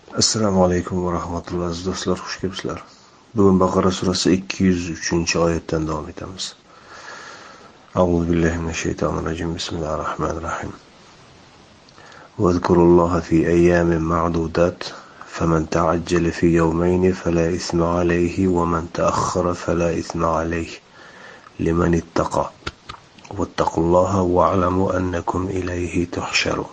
Assalomu alaykum va rahmatullohi aziz do'stlar, xush kelibsizlar. Bugun Baqara surasi 203-oyatdan davom etamiz. A'udhu billahi minash shaytonir rojim. Bismillahir rohmanir rohim. Wadhkurulloha fi ayyamin ma'dudat, faman ta'ajjala fi yawmayn fala ithma alayhi wa man ta'akhkhara fala ithma alayhi liman ittaqa. Wattaqulloha wa'lamu annakum ilayhi tuhsharun.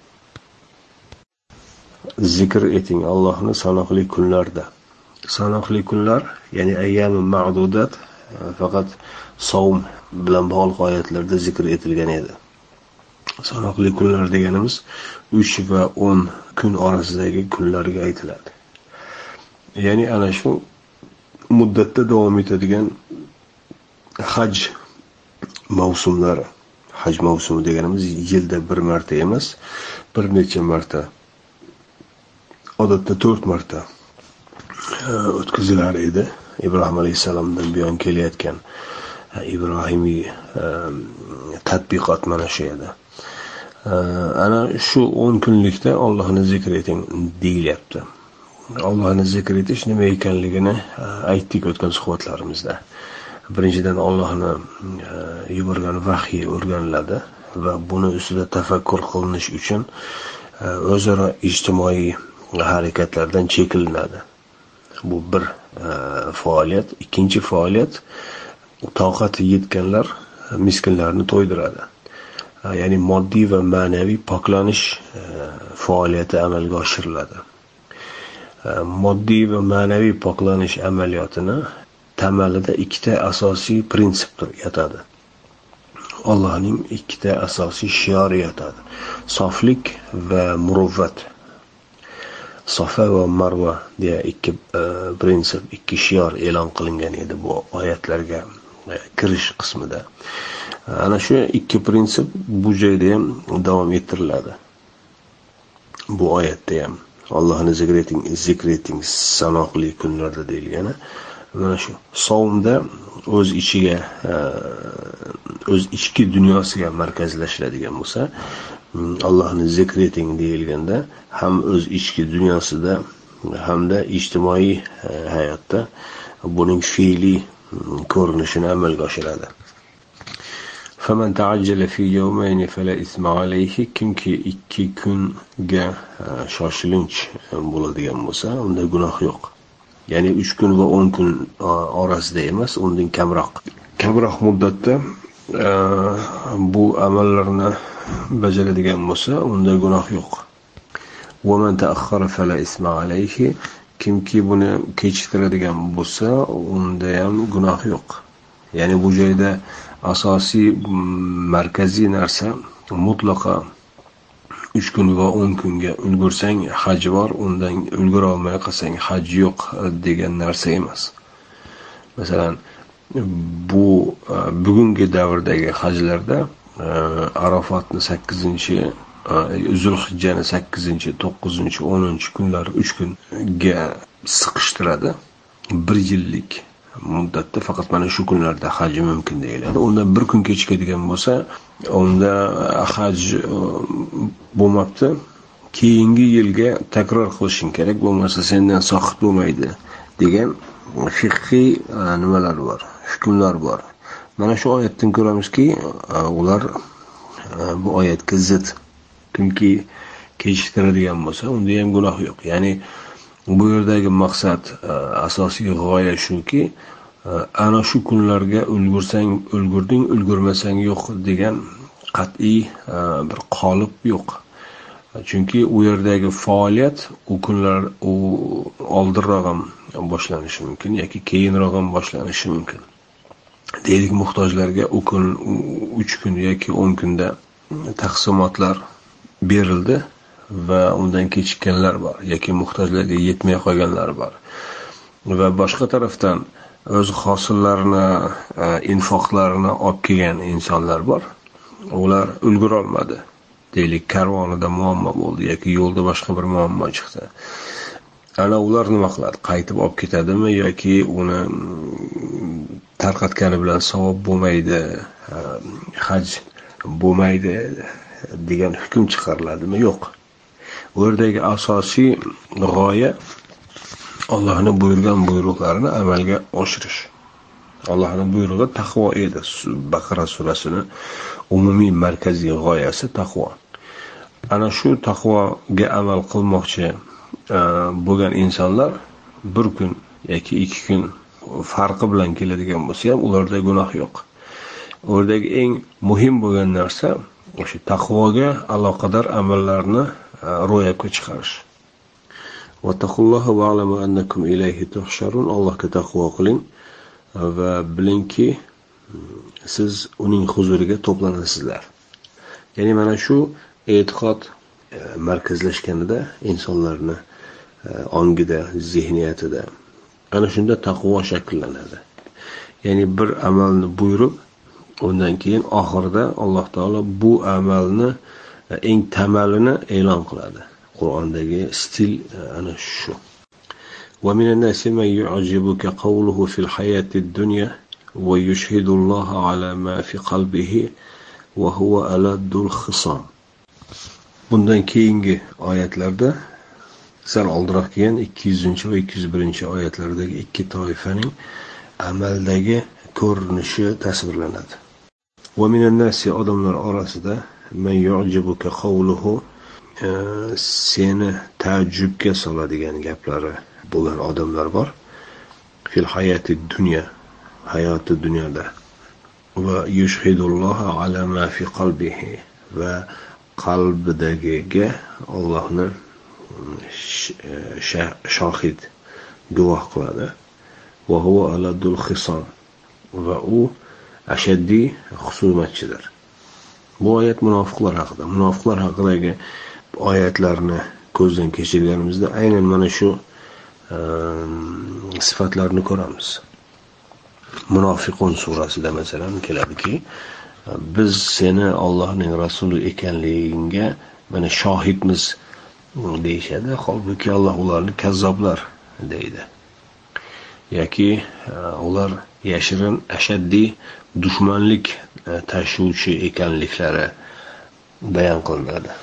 Zikr eting Allohni sanoqli kunlarda. Sanoqli kunlar, ya'ni ayyam ma'dudat, faqat savm bilan bog'liq oyatlarda zikr etilgan edi. Sanoqli kunlar deganimiz 3 va 10 kun orasidagi kunlarga aytiladi. Ya'ni ana shu muddatda davom etadigan haj mavsumlari. Haj mavsumi deganimiz yilda bir marta emas, bir necha marta, odatda 4 marta o'tkazilar edi. Ibrohim alayhisalomdan buyon kelayotgan ibrohimiy tadbiqot mana shu edi. Ana shu 10 kunlikda Allohni zikr eting deyilyapti. Allohni zikr etish nima ekanligini aytdik o'tgan suhbatlarimizda. Birinchidan Allohni yuborgan vahiy o'rganiladi va buni ustida tafakkur qilinish uchun o'zaro ijtimoiy harakatlardan chekilinadi. Bu bir faoliyat. Ikkinchi faoliyat, toqati yetganlar miskinlarni to'ydiradi. Ya'ni moddiy va ma'naviy poklanish faoliyati amalga oshiriladi. Moddiy va ma'naviy poklanish amaliyotini tamalida ikkita asosiy prinsip yotadi. Allohning ikkita asosiy shiori yotadi. Soflik va muruvvat. Safa va Marva deya ikki prinsip, ikki shior e'lon qilingan edi bu oyatlarga kirish qismida. Ana shu ikki prinsip bu joyda ham davom ettiriladi. Bu oyatda ham Allohni zikr eting sanoqli kunlarda deyilgani. Mana shu savmda o'z ichki dunyosiga markazlashadigan bo'lsa, Allohni zikr eting deyilganda ham o'z ichki dunyosida hamda ijtimoiy hayotda buning fe'liy ko'rinishini amalga oshiradi. Faman ta'ajjala fi yawmayn fala isma alayhi, kimki 2 kunga shoshilinch bo'ladigan bo'lsa, unda gunoh yo'q. Ya'ni 3 kun va 10 kun orasida emas, undan kamroq muddatda bu amallarni bajaradigan bo'lsa, unda gunoh yo'q. Va man ta'akhkhara fala isma alayhi, kimki buni kechiktiradigan bo'lsa, unda ham gunoh yo'q. Ya'ni bu joyda asosiy markaziy narsa mutlaqo 3 kun va 10 kunga ulgursang haj bor, undan ulgura olmay qolsang haj yo'q degan narsa emas. Masalan, bugungi davrdagi hajlarda Arafatni 8-chi, Zulhijjani 8-chi, 9-chi, 10-chi kunlar 3 kunga siqishtiradi. 1 yillik muddatda faqat mana shu kunlarda haj mumkin deyiladi. Undan 1 kun kechikadigan bo'lsa, unda haj bo'lmabdi. Keyingi yilga takror qilishing kerak, bo'lmasa sendan soqit bo'lmaydi degan fiqhiy nimalar bor, hukmlar bor. Mana shu oyatdan ko'ramizki, ular bu oyatga zid. Kimki kechiktiradigan bo'lsa, unda ham gunoh yo'q. Ya'ni bu yerdagi maqsad, asosiy g'oya shuki, ana shu kunlarga ulgurding, ulgurmasang yo'q degan qat'iy bir qolip yo'q. Chunki u yerdagi faoliyat u kunlar oldinroq ham boshlanishi mumkin yoki keyinroq ham boshlanishi mumkin. Deylik, muhtojlarga u kun 3 kun yoki 10 kunda taqsimotlar berildi va undan kechikkanlar bor yoki muhtojlarga yetmay qolganlar bor. Va boshqa tarafdan o'z hosillarini, infoqlarini olib kelgan insonlar bor. Ular ulgura olmadi. Deylik, karvonida muammo bo'ldi yoki yo'lda boshqa bir muammo chiqdi. Ana ular nima qiladi? Qaytib olib ketadimi yoki uni tarqatgani bilan savob bo'lmaydi, haj bo'lmaydi degan hukm chiqariladimi? Yo'q. Bu yerdagi asosiy g'oya Allohning buyurgan buyruqlarini amalga oshirish. Allohning buyrug'i taqvo edi. Baqara surasining umumiy markaziy g'oyasi taqvo. Ana shu taqvoga amal qilmoqchi bo'lgan insonlar bir kun yoki 2 kun farqi bilan keladigan bo'lsa ham ularda gunoh yo'q. O'rdagi eng muhim bo'lgan narsa o'sha taqvoga aloqador amallarni ro'yobga chiqarish. Vattaqulloha va'lamu annakum ilayhi tuhsharun. Allohga taqvo qiling va bilingki siz uning huzuriga to'planasizlar. Ya'ni mana shu e'tiqod markazlashganida insonlarning ongida, zihniyatida ana shunda taqvo shakllanadi. Ya'ni bir amalni buyurib, undan keyin oxirida Alloh taolo bu amalni eng tamalini e'lon qiladi. Qur'ondagi stil ana shu. Wa minan nasi man yu'jibuka qawluhu fil hayatid dunya wa yushhidu Alloha ala ma fi qalbihi wa huwa aladdul khisam. Bundan keyingi oyatlarda sal oldinroq kelgan 200 va 201 oyatlardagi ikki toifaning amaldagi ko'rinishi tasvirlanadi. Va minan nasi odamlar orasida man yu'jibuka qawluhu seni taajjubga soladigan gaplari bo'lgan odamlar bor. Fil hayati dunya, hayoti dunyoda. Va yushhidulloha ala ma fi qalbihi va qalbidagiga Allohni shohid guvoh qiladi. Va huwa aladul khisam va u ashaddiy husumatchidir. Bu oyat munofiqlar haqida. Munofiqlar haqidagi oyatlarni ko'zdan kechirganimizda aynan mana shu sifatlarni ko'ramiz. Munofiqun surasida masalan keladiki, biz seni Allohning rasuli ekanligingga mana shohidmiz deyishadi. Holbuki Alloh ularni kazzoblar deydi. Yoki ular yashirin ashaddiy dushmanlik tashuvchi ekanliklari bayon qilinadi.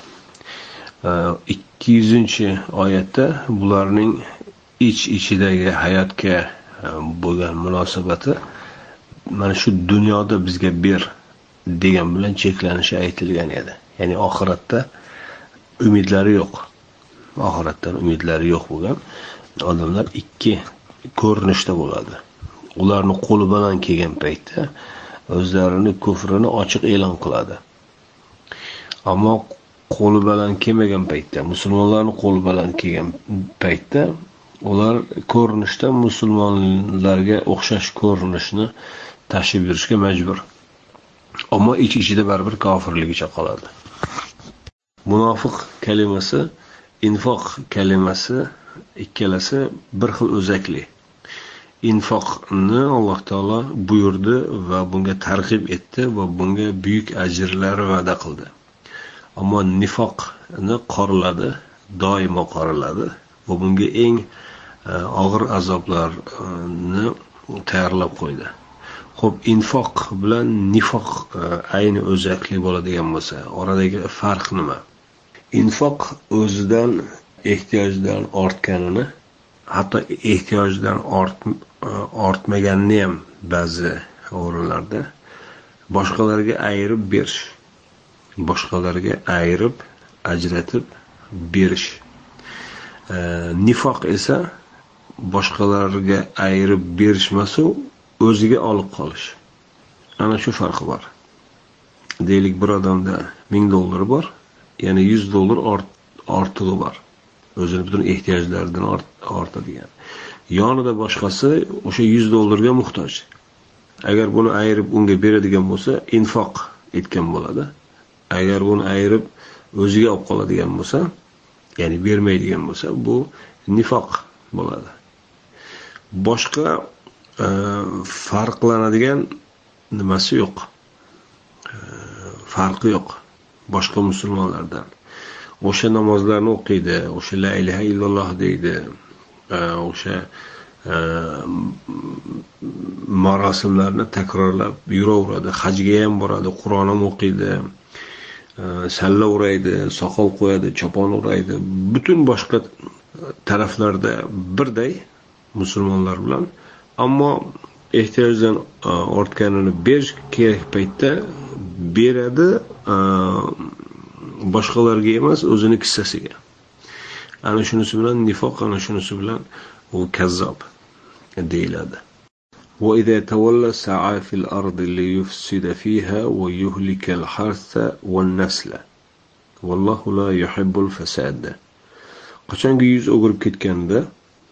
200-oyatda bularning ichidagi hayotga bo'lgan munosabati mana shu dunyoda bizga ber degan bilan cheklanishi aytilgan edi. Ya'ni oxiratda umidlari yo'q. Oxiratdan umidlari yo'q bo'lgan odamlar ikki ko'rinishda bo'ladi. Ularni qo'li bilan kelgan paytda o'zlarini kufrini ochiq e'lon qiladi. Ammo qo'li bilan kelmagan paytda, musulmonlarning qo'li bilan kelgan paytda ular ko'rinishda musulmonlarga o'xshash ko'rinishni tashib yurishga majbur. Ammo ichida baribir kofirligicha qoladi. Munofiq kalimasi, infoq kalimasi ikkalasi bir xil o'zakli. Infoqni Alloh taolo buyurdi va bunga targ'ib etdi va bunga buyuk ajrlar va'da qildi. Ammo nifoqni qoraladi, doimo qoraladi va bunga eng og'ir azoblarni tayyorlab qo'ydi. Xo'p, infoq bilan nifoq ayni o'zakli bo'ladigan bo'lsa, oradagi farq nima? Infoq o'zidan ehtiyojdan ortganini, hatto ehtiyojdan ortmaganini ham ba'zi o'rinlarda boshqalarga ayirib berish, boshqalarga ayirib, ajratib berish. Nifoq esa boshqalarga ayirib berishmasu o'ziga olib qolish. Ana shu farqi bor. Deylik, bir odamda $1000 bor, ya'ni $100 ortig'i bor. O'zining butun ehtiyojlaridan ortadigan. Yonida boshqasi o'sha $100 ga muhtoj. Agar buni ayirib unga beradigan bo'lsa, infoq etgan bo'ladi. Agar buni ayirib o'ziga olib qoladigan bo'lsa, ya'ni bermaydigan bo'lsa, bu nifoq bo'ladi. Boshqa farqlanadigan nimasi yo'q. Farqi yo'q boshqa musulmonlardan. O'sha namozlarni o'qiydi, o'sha la ilaha illalloh deydi, o'sha marosimlarni takrorlab yuraveradi, hajga ham boradi, Qur'on ham o'qiydi, salla o'raydi, soqol qo'yadi, chopon o'raydi. Butun boshqa taraflarda birday musulmonlar bilan, ammo ehtiyojdan ortganini berish kerak paytda beradi, boshqalarga emas, o'zini kissasiga. Ana shunisi bilan nifoq, ana shunisi bilan u kazzob deyiladi. وإذا تولى سعى في الأرض ليفسد فيها ويهلك الحرث والنسل والله لا يحب الفساد. Qachonki yuz o'girib ketganda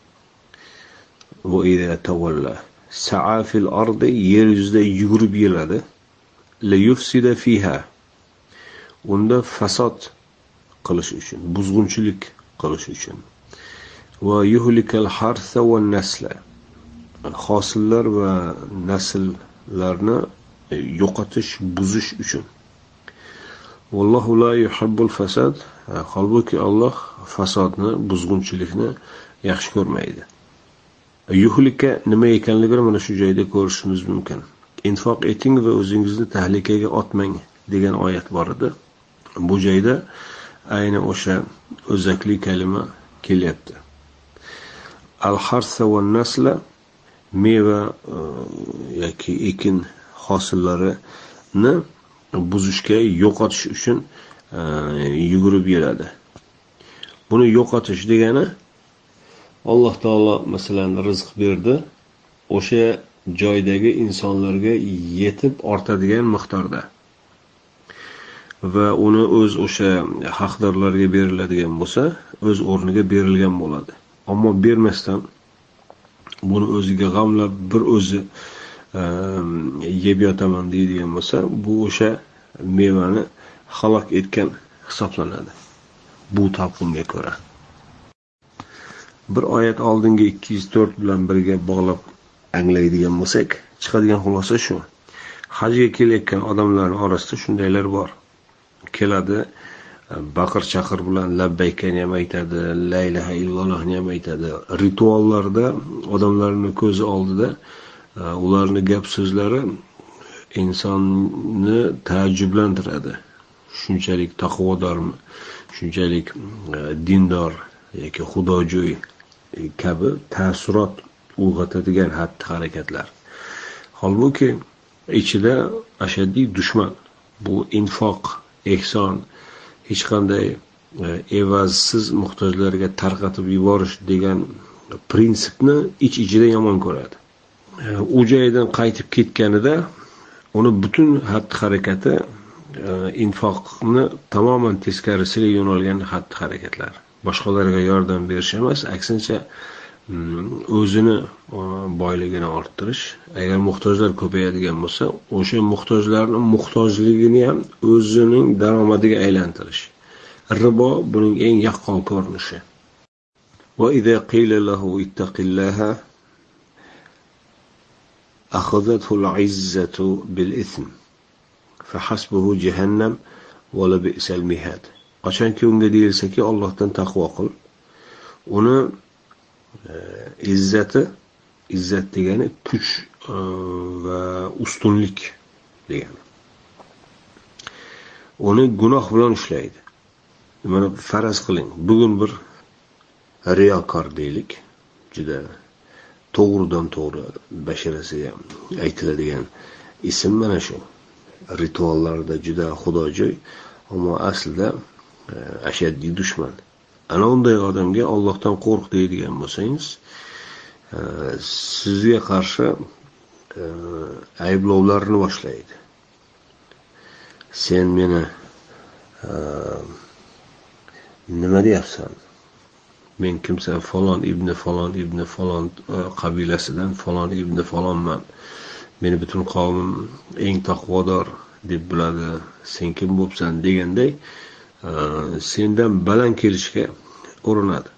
وإذا تولى سعى في الأرض yer yuzida yugurib yuradi, ليفسد فيها unda fasod qilish uchun, buzg'unchilik qilish uchun, ويهلك الحرث والنسل hosillar va nasllarni yo'qotish, buzish uchun. Vallohu la yuhibbul fasad. Holbuki Alloh fasodni, buzg'unchilikni yaxshi ko'rmaydi. Yuhlika nima ekanligini mana shu joyda ko'rishingiz mumkin. Infoq eting va o'zingizni tahlikaga otmang degan oyat bor edi. Bu joyda ayni o'sha o'zakli kalima kelyapti. Al-harsa va nasla meva yoki ekin hosillarini buzishga, yo'qotish uchun yugurib yuradi. Buni yo'qotish degani, Alloh taolo masalan rizq berdi, o'sha joydagi insonlarga yetib ortadigan miqdorda va uni o'sha haqdorlarga beriladigan bo'lsa, o'z o'rniga berilgan bo'ladi. Ammo bermasdan buni o'ziga g'amlab bir o'zi yeb yotaman deydigan bo'lsa, bu o'sha mevani halok etgan hisoblanadi. Bu talqinga ko'ra. Bir oyat oldingi 204 bilan birga bog'lab anglaydigan bo'lsak, chiqadigan xulosa shu. Hajga kelayotgan odamlarning orasida shundaylar bor. Keladi, baqir-chaqir bilan labbaykani ham aytadi, la ilaha illallohni ham aytadi. Rituallarda odamlarning ko'zi oldida ularning gap so'zlari insonni taajjublantiradi. Shunchalik taqvodormi, shunchalik dindor yoki xudojo'y kabi ta'sirot uyg'otadigan xatti-harakatlar. Holbuki ichida ashaddiy dushman bu infoq, ehson, hech qanday evazsiz muhtojlarga tarqatib yuborish degan prinsipni ichida yomon ko'radi. U joydan qaytib ketganida uni butun xatti-harakati infoqni tamoman teskarisiga yo'nalgan xatti-harakatlar. Boshqalarga yordam berish emas, aksincha o'zini boyligini orttirish. Agar muhtojlar ko'payadigan bo'lsa, o'sha muhtojlarning muhtojligini ham o'zining daromadiga aylantirish. Ribo buning eng yaqqol ko'rinishi. Va idza qila lahu ittaqillaha akhadhathu al-'izzatu bil-ithm fa hasbuhu jahannam va la bi'sal mihad. Qachonki unga deyilsa-ki, Allohdan taqvo qil, uni izzat degani kuch va ustunlik degani. Uni gunoh bilan ushlaydi. Mana faraz qiling, bugun bir riyokor deylik, juda to'g'ridan-to'g'ri basharasiga aytiladigan ism mana shu. Rituallarda juda xudojo'y, ammo aslida ashaddiy dushman. Ana unday odamga Allohdan qo'rq deydigan bo'lsangiz, sizga qarshi ayblovlarni boshlaydi. Sen meni nima deyapsan? Men kimsan? Falon ibn falon qabilasidan falon ibn falonman. Meni butun qavmim eng taqvodor deb biladi. Sen kim bo'psan deganday sendan baland kelishga urinadi.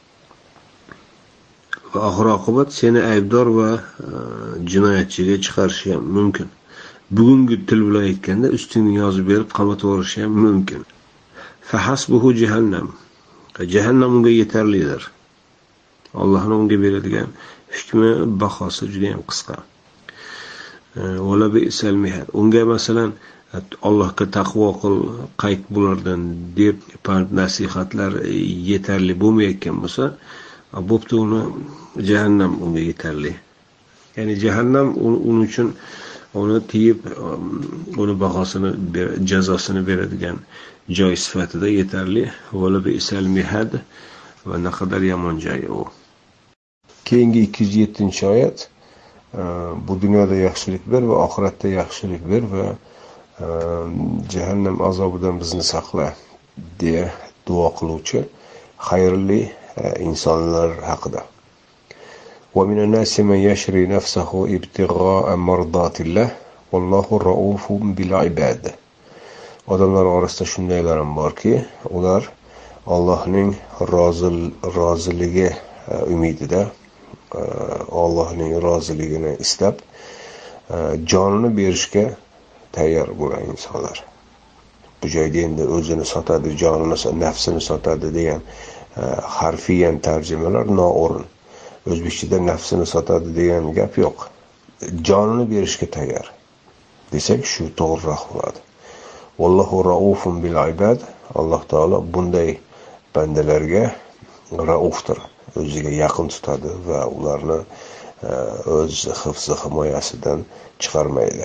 Va oxir-oqibat seni aybdor va jinoyatchiga chiqarishi ham mumkin. Bugungi til bilan aytganda ustingni yozib berib qamatib yuborishi ham mumkin. Fa hasbuhu jahannam. Jahannam unga yetarlidir. Allohning unga beradigan hukmi, bahosi juda ham qisqa. Wala bi'sal mihad. Unga masalan Allohga taqvo qil, qayt bulardan deb pand nasihatlar yetarli bo'lmayotgan bo'lsa, bo'pti, uni jahannam unga yetarli. Ya'ni jahannam uning uchun uni tiyib, uni bahosini, jazosini beradigan joy sifatida yetarli. Wala bi'sal mihad, va naqadar yomon joy u. Keyingi 207-oyat, bu dunyoda yaxshilik ber va oxiratda yaxshilik ber va jahannam azobidan bizni saqla deya duo qiluvchi xayrli insonlar haqida. Wa minan nasi man yashri nafsahu ibtigha'a mardatillah wallohu raufun bil ibad. Odamlar orasida shundaylar ham borki, ular Allohning roziligi umidida, Allohning roziligini istab jonini berishga tayyor bo'lgan insonlar. Bu joyda endi o'zini sotadi, jonini, nafsini sotadi degan harfiyan tarjimalar noo'rin. O'zbekchada nafsini sotadi degan gap yo'q. Jonini berishga tayyor desak shu to'g'riroq bo'ladi. Vallohu raufun bil ibad. Alloh taolo bunday bandalarga raufdir, o'ziga yaqin tutadi va ularni o'z hifzi himoyasidan chiqarmaydi.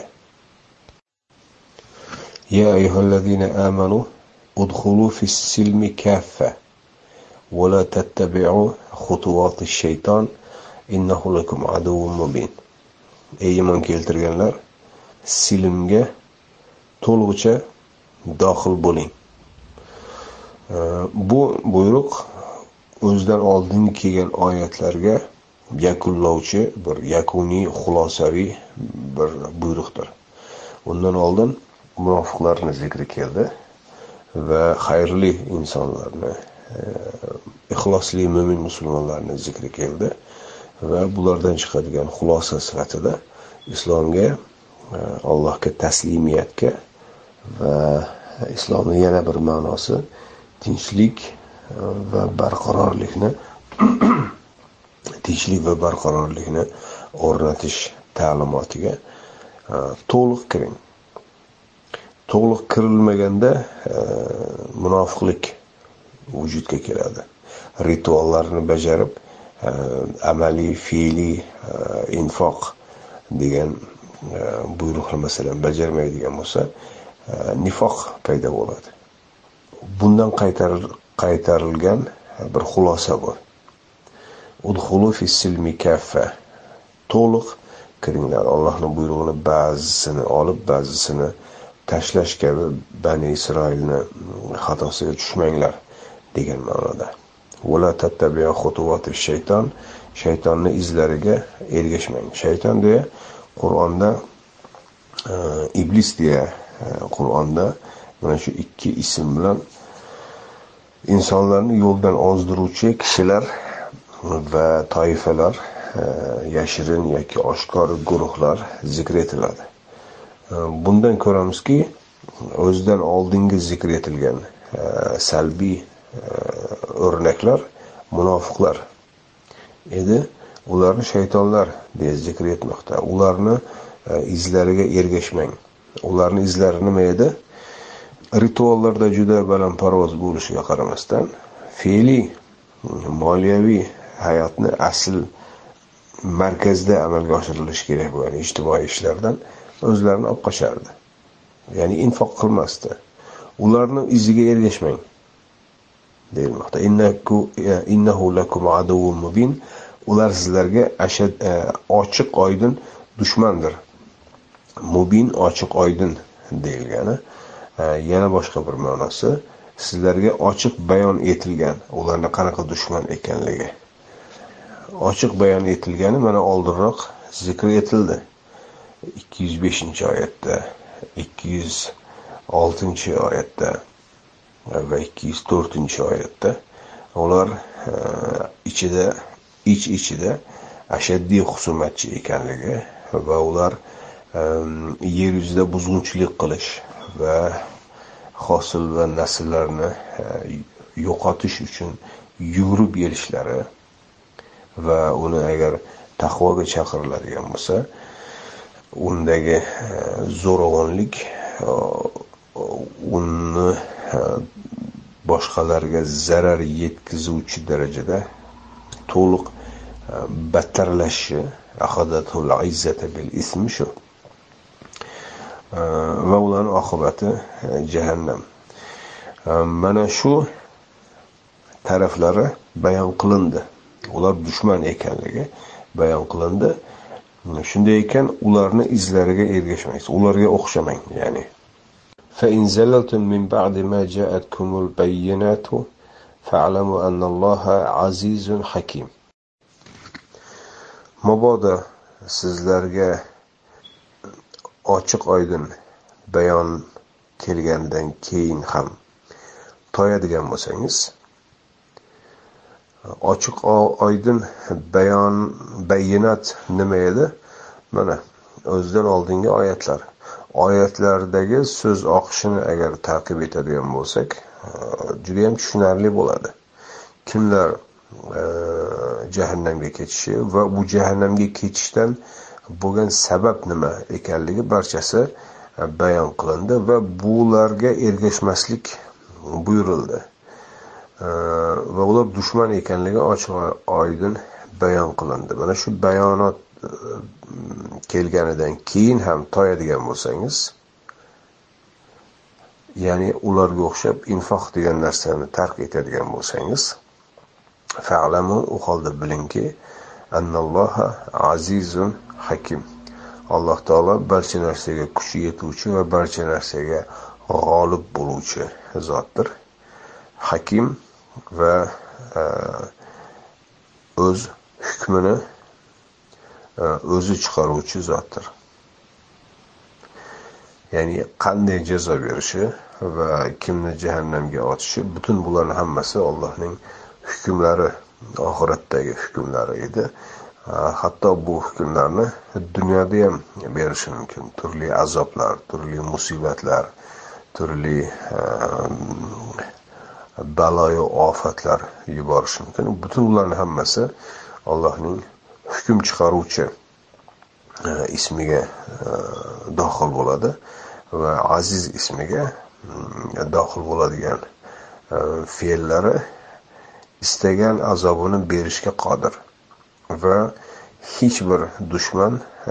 Ya ayyuhallazina amanu udkhulu fis-silmi kaffa wa la tattabi'u khutuwatish shayton innahu lakum aduwwun mubin. Ey iymon keltirganlar, silmga to'lig'icha daxil bo'ling. Bu buyruq o'zidan oldin kelgan oyatlarga yakunlovchi bir yakuniy xulosaviy bir buyruqdir. Undan oldin munofiqlarni zikri keldi va xayrli insonlarni, ixlosli mo'min musulmonlarni zikri keldi va bulardan chiqadigan xulosa sifatida islomga, Allohga taslimiyatga va islomning yana bir ma'nosi tinchlik va barqarorlikni o'rnatish ta'limotiga to'liq kiring. To'liq kirilmaganda munofiqlik vujudga keladi. Rituallarni bajarib, amaliy, fe'liy infoq degan buyruqni masalan bajarmaydigan bo'lsa, nifoq paydo bo'ladi. Bundan qaytarilgan bir xulosa bu. Udkhulu fis-silmi kaffa. To'liq kiringlar. Allohning buyrug'ini ba'zisini olib, ba'zisini tashlash kabi Bani Isroilni xatosiga tushmanglar degan ma'noda. Wala tattabi'u khutuwatish shayton. Shaytonning izlariga ergashmang. Shayton deya Qur'onda iblis deya Qur'onda mana shu ikki ism bilan insonlarni yo'ldan ozdiruvchi kishilar va toifalar, yashirin yoki oshkor guruhlar zikr etiladi. Bundan ko'ramizki, o'zidan oldingi zikr etilgan salbiy o'rnaklar munofiqlar edi. Ularni shaytonlar deya zikr etmoqda. Ularni izlariga ergashmang. Ularni izlari nima edi? Rituallarda juda balandparvoz bo'lishiga qaramasdan, fe'liy, moliyaviy hayotni asl markazda amalga oshirilishi kerak bo'lgan ijtimoiy ishlardan o'zlarini olib qochardi. Ya'ni infoq qilmasdi. Ularni iziga ergashmang deyilmoqda. Innahu lakum aduwwun mubin. Ular sizlarga ochiq oydin dushmandir. Mubin ochiq oydin deyilgani. Yana boshqa bir ma'nosi, sizlarga ochiq bayon etilgan, ularning qanaqa dushman ekanligi. Ochiq bayon etilgani mana oldinroq zikr etildi. 205-oyatda, 206-oyatda va 204-oyatda ular ichida ashaddiy husumatchi ekanligi va ular yer yuzida buzg'unchilik qilish va hosil va nasllarni yo'qotish uchun yugurib kelishlari va uni agar taqvoga chaqiriladigan bo'lsa, undagi zo'ravonlik uni boshqalarga zarar yetkazuvchi darajada to'liq battarlashishi, axadatul izzata bil ismi shu. Va ularning oqibati jahannam. Mana shu taraflari bayon qilindi. Ular dushman ekanligi bayon qilindi. Shunday ekan, ularni izlariga ergashmaysiz, ularga o'xshamang, ya'ni. Fa in zalaltum min ba'di ma ja'atkumul bayyinatu fa'lamu annalloha azizun hakim. Mabodo sizlarga ochiq oydin bayon kelgandan keyin ham toyadigan bo'lsangiz, ochiq oydin bayinat nima edi? Mana o'zidan oldingi oyatlar. Oyatlardagi so'z oqishini agar ta'qib etadigan bo'lsak, juda ham tushunarli bo'ladi. Kimlar jahannamga ketishi va bu jahannamga ketishdan bo'lgan sabab nima ekanligi barchasi bayon qilindi va bularga ergashmaslik buyurildi. Va ular dushman ekanligi ochiq oydin bayon qilindi. Mana shu bayonot kelganidan keyin ham toyadigan bo'lsangiz, ya'ni ularga o'xshab infoq degan narsani tark etadigan bo'lsangiz, fa'lamu, u holda bilingki, annalloha azizun hakim. Alloh taolo barcha narsaga kuchi yetuvchi va barcha narsaga g'olib bo'luvchi zotdir. Hakim va o'z hukmini o'zi chiqaruvchi zotdir. Ya'ni qanday jazo berishi va kimni jahannamga otishi, butun bularning hammasi Allohning hukmlari, oxiratdagi hukmlari edi. Hatto bu hukmlarni dunyoda ham berishi mumkin. Turli azoblar, turli musibatlar, turli baloyu ofatlar yuborishi mumkin. Butun ularning hammasi Allohning hukm chiqaruvchi ismiga daxil bo'ladi va aziz ismiga daxil bo'ladigan fe'llari istagan azobini berishga qodir va hech bir dushman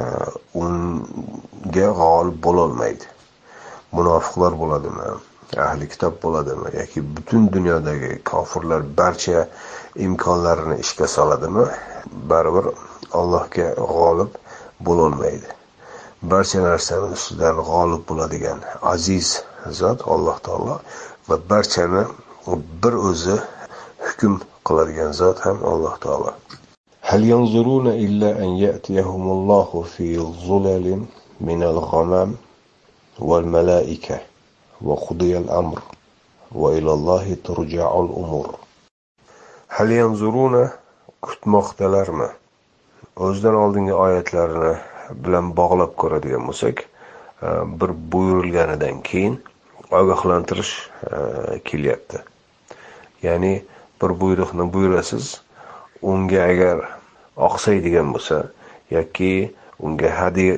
unga g'olib bo'la olmaydi. Munofiqlar bo'ladimi, ahli kitob bo'ladimi yoki butun dunyodagi kofirlar barcha imkonlarini ishga soladimi, baribir Allohga g'olib bo'la olmaydi. Barcha narsaning ustidan g'olib bo'ladigan aziz zot Alloh taolo va barchani bir o'zi hukm qiladigan zot ham Alloh taolo. Hal yanzuruna illa an ya'tiyahumullohu fi zulalin minal ghamam wal malaika va qudiyal amr va ilallohi turja'ul umur. Hal yanzuruna, kutmoqdalarmi? O'zidan oldingi oyatlarni bilan bog'lab ko'radigan bo'lsak, bir buyurilganidan keyin ogohlantirish kelyapti. Ya'ni bir buyruqni buyurasiz, unga agar oqsaydigan bo'lsa yoki unga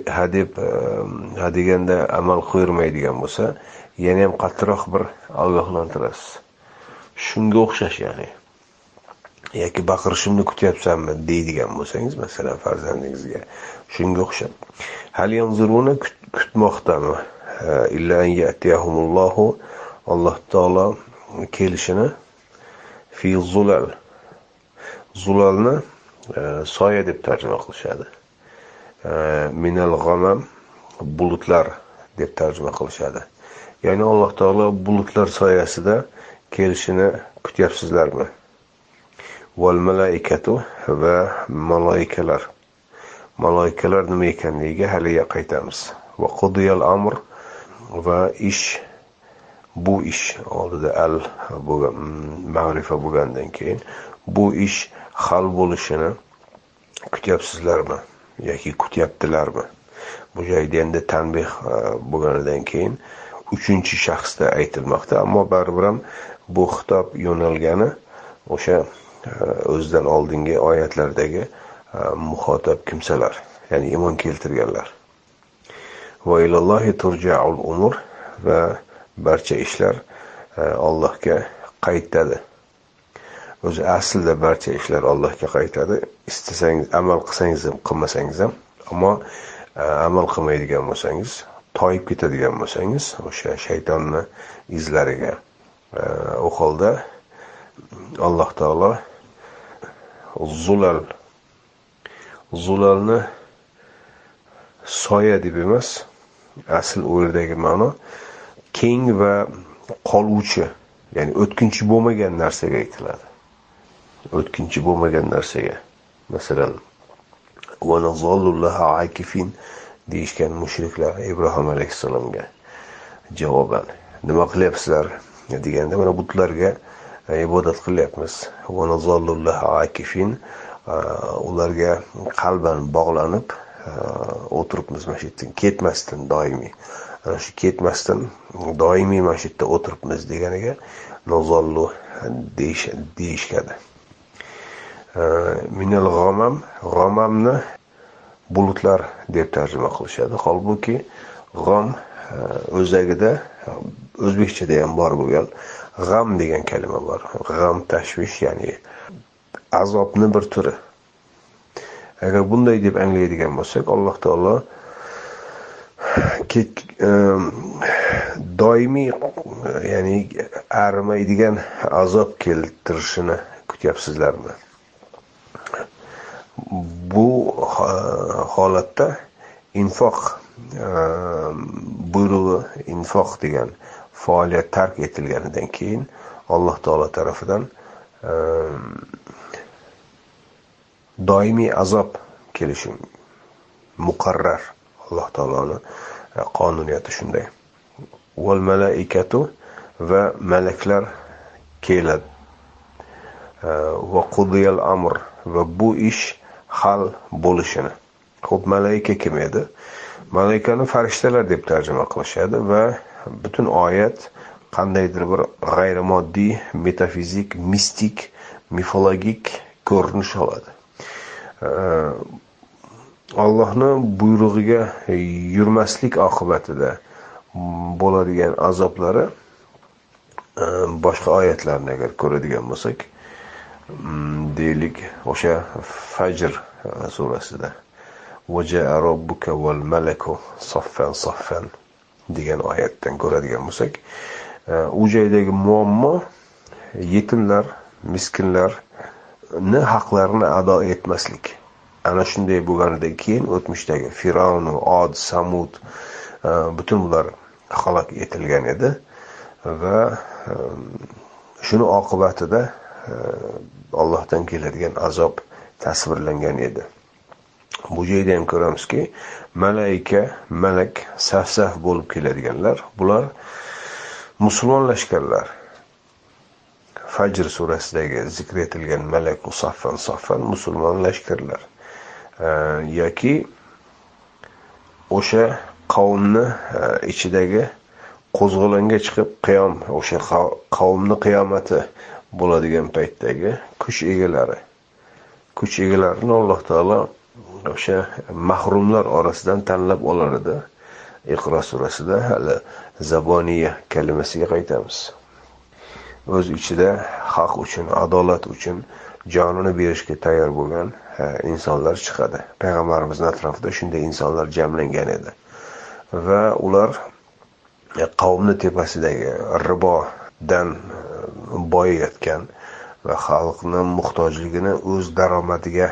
hadeganda amal qo'ymaydigan bo'lsa, yana ham qattiqroq bir ogohlantirasiz. Shunga o'xshash, ya'ni yoki baqirishimni kutyapsanmi deydigan bo'lsangiz, masalan, farzandingizga, shunga o'xshab. Hal yanzuruna, kutmoqdami? Illa an ya'tiyahumullohu, Alloh taolo kelishini fi zulal. Zulalni soya deb tarjima qilishadi. Minal ghamam, bulutlar deb tarjima qilishadi. Ya'ni Alloh taolo bulutlar soyasida kelishini kutyapsizlarmi? Val malaikatu, va malaikalar. Malaikalar nima ekanligiga haliga qaytamiz. Va qudiyal amr, va bu ish oldida al bo'lgan ma'rifa bo'lgandan keyin bu ish hal bo'lishini kutyapsizlarmi yoki kutyaptilarmi? Bu joyda endi tanbih bo'lganidan keyin uchinchi shaxsda aytilmoqda, ammo baribir ham bu xitob yo'nalgani o'sha o'zidan oldingi oyatlardagi muxotab kimsalar, ya'ni iymon keltirganlar. Va ilallohi turja'ul umur, va barcha ishlar Allohga qaytadi. O'zi aslida barcha ishlar Allohga qaytadi. Istasangiz amal qilsangiz ham, qilmasangiz ham, ammo amal qilmaydigan bo'lsangiz, toyib ketadigan bo'lsangiz, o'sha shaytonning izlariga, u holda Alloh taolo zulalni soya deb emas, asl u yerdagi ma'no keng va qoluvchi, ya'ni o'tkinchi bo'lmagan narsaga aytiladi. O'tkinchi bo'lmagan narsaga. Masalan, va nazallullaha akifin deyishgan mushriklar Ibrohim alayhissalomga javoban nima qilyapsizlar deganda, mana butlarga ibodat qilyapmiz. Va nazallullaha akifin, ularga qalban bog'lanib o'tiribmiz, mana shu yerdan ketmasdan doimiy. Ana shu ketmasdan doimiy mana shu yerda o'tiribmiz deganiga nazallu deyishadi. Minal g'amamni bulutlar deb tarjima qilishadi. Holbuki g'am o'zagida o'zbekchada ham bor bo'lgan g'am degan kalima bor. G'am tashvish, ya'ni azobni bir turi. Agar bunday deb anglaydigan bo'lsak, Alloh taolo doimiy, ya'ni arimaydigan azob keltirishini kutyapsizlarmi? Bu holatda infoq buyrug'i, infoq degan faoliyat tark etilganidan keyin Alloh taolo tarafidan doimiy azob kelishi muqarrar. Alloh taoloning qonuniyati shunday. Val malaikatu, va malaklar keladi. Va qudiyal amr, va bu ish hal bo'lishini. Xo'p, malaika kim edi? Malaikani farishtalar deb tarjima qilishadi va butun oyat qandaydir bir g'ayrimoddiy, metafizik, mistik, mifologik ko'rinish oladi. Allohning buyrug'iga yurmaslik oqibatida bo'ladigan azoblari boshqa oyatlarni agar ko'radigan bo'lsak, deylik, o'sha Fajr surasida vaja'a robbuka val malaku saffan saffan degan oyatdan ko'radigan bo'lsak, u joydagi muammo yetimlar, miskinlarni haqlarini ado etmaslik. Ana shunday bo'lganidan keyin o'tmishdagi Firavn, Od, Samud butun bular halok etilgan edi va shuni oqibatida Allohdan keladigan azob tasvirlangan edi. Bu joyda ham ko'ramizki, malak saf-saf bo'lib keladiganlar, bular musulmon lashkarlar. Fajr surasidagi zikr etilgan malaku saffan musulmon lashkarlar. Yoki o'sha qavmni ichidagi qo'zg'olonga chiqib o'sha qavmni qiyomati bo'ladigan paytdagi kuch egalarini Alloh taolo o'sha mahrumlar orasidan tanlab olar edi. Iqro surasida hali zaboniya kalimasiga qaytamiz. O'z ichida haq uchun, adolat uchun jonini berishga tayyor bo'lgan insonlar chiqadi. Payg'ambarimizning atrofida shunday insonlar jamlangan edi. Va ular qavmni tepasidagi ribodan boyayotgan va xalqning muhtojligini o'z daromadiga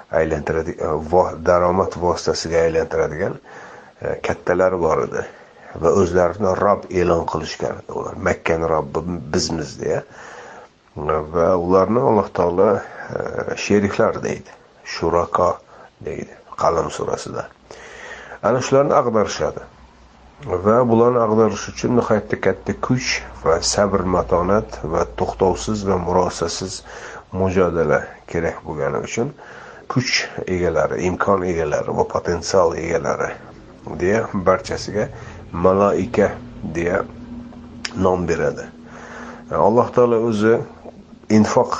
daromad vositasiga aylantiradigan kattalar bor edi va o'zlarini Rob e'lon qilishgan. Ular Makkani Robbi bizmiz deya. Va ularni Alloh taolo sheriklar deydi. Shurako deydi Qalam surasida. Ana shularni ag'darishadi. Va bularni ag'darish uchun nihoyatda katta kuch va sabr, matonat va to'xtovsiz va murosasiz mujodala kerak bo'lgani uchun kuch egalari, imkon egalari va potensial egalari deya barchasiga malaika deya nom beradi. Alloh taolo o'zi infoq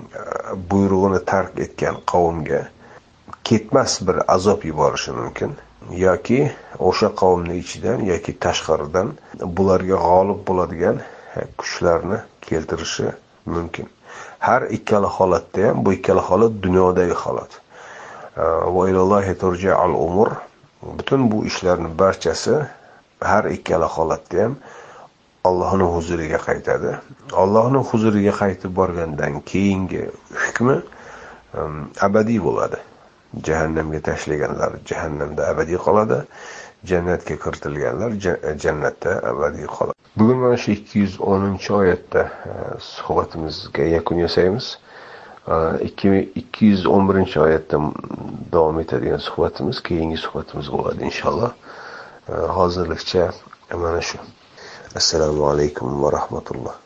buyrug'ini tark etgan qavmga ketmas bir azob yuborishi mumkin. yoki o'sha qavmning ichidan yoki tashqaridan bularga g'olib bo'ladigan kuchlarni keltirishi mumkin. Har ikkala holatda ham, bu ikkala holat dunyodagi holat. Va ilallohi turja'ul umur. Butun bu ishlarning barchasi har ikkala holatda ham Allohning huzuriga qaytadi. Allohning huzuriga qaytib borgandan keyingi hukmi abadiy bo'ladi. Jahannamga tashlaganlar jahannamda abadiy qoladi, jannatga kiritilganlar jannatda abadiy qoladi. Bugun mana shu 210-oyatda suhbatimizga yakun yasaymiz. 211-oyatda davom etadigan suhbatimiz keyingi suhbatimiz bo'ladi inshaalloh. Hozirlikcha mana shu. Assalomu alaykum va rahmatulloh.